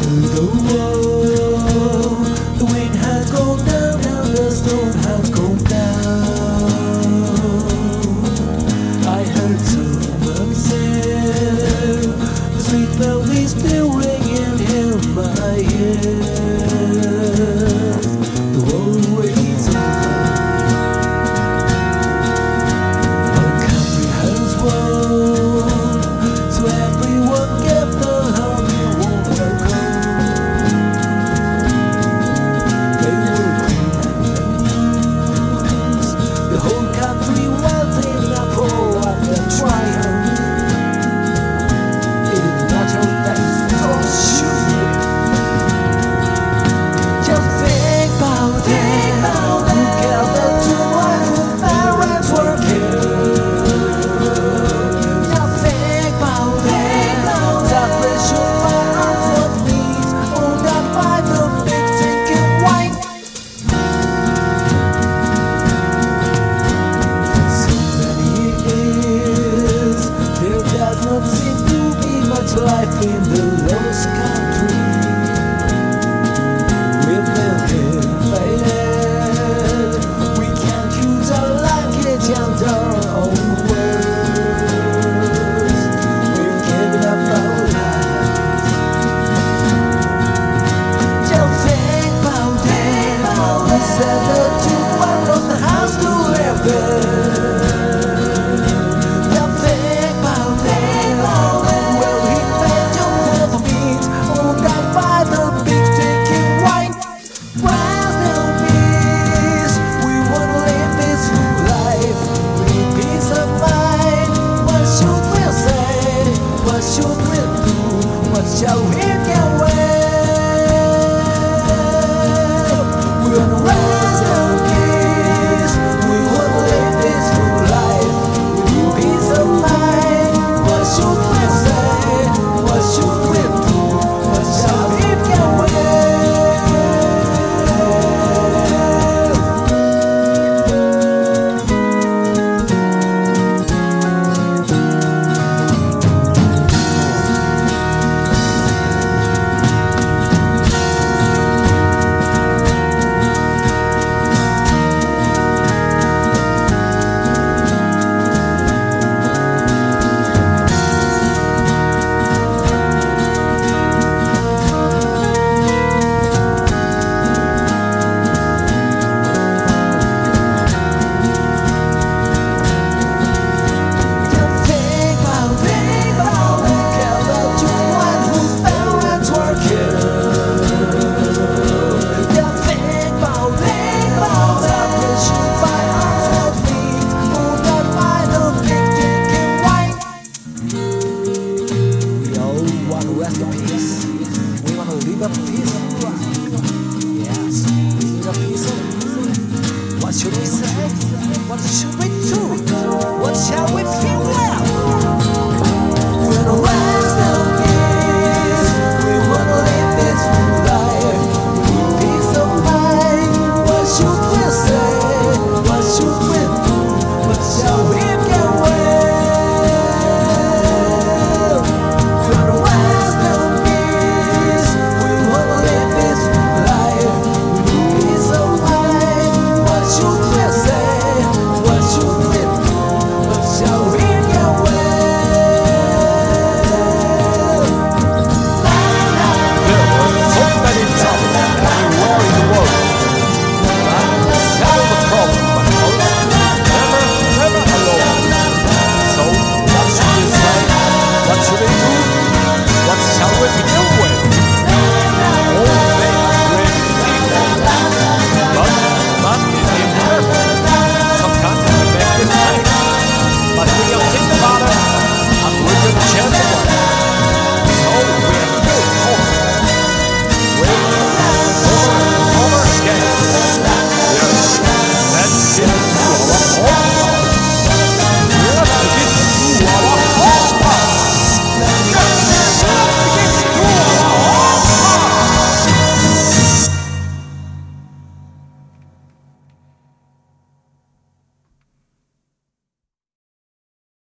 the wall. The wind has gone down, now the storm has gone down. I heard someone say the sweet melody still ringing in my ears. The world waits over. Our country has won, so everyone get the love you want to go. They will clean and lose the whole country was in a pro and a triumph. It is natural that so should we. Just think about it. Who gathered to life whose parents were killed? Just think about it. That pressure by arms was peace, all that by the big thinking white. So many years, there does not seem to be much life in the lost country. We've been invaded. We can't use our language and our own words. We've given up our lives. Just think about it. We said that you want the house to live in. Just think about it. Well, he made you for the meat, all that by the big sticky white. Where's the peace? We wanna live this life with peace of mind. What should we say? What should we do? What shall we get away? We wanna raise the peace. We wanna live this life with peace of mind. What should we say? What should we do? What shall we get away? We all want to rest in peace. We want to live in peace.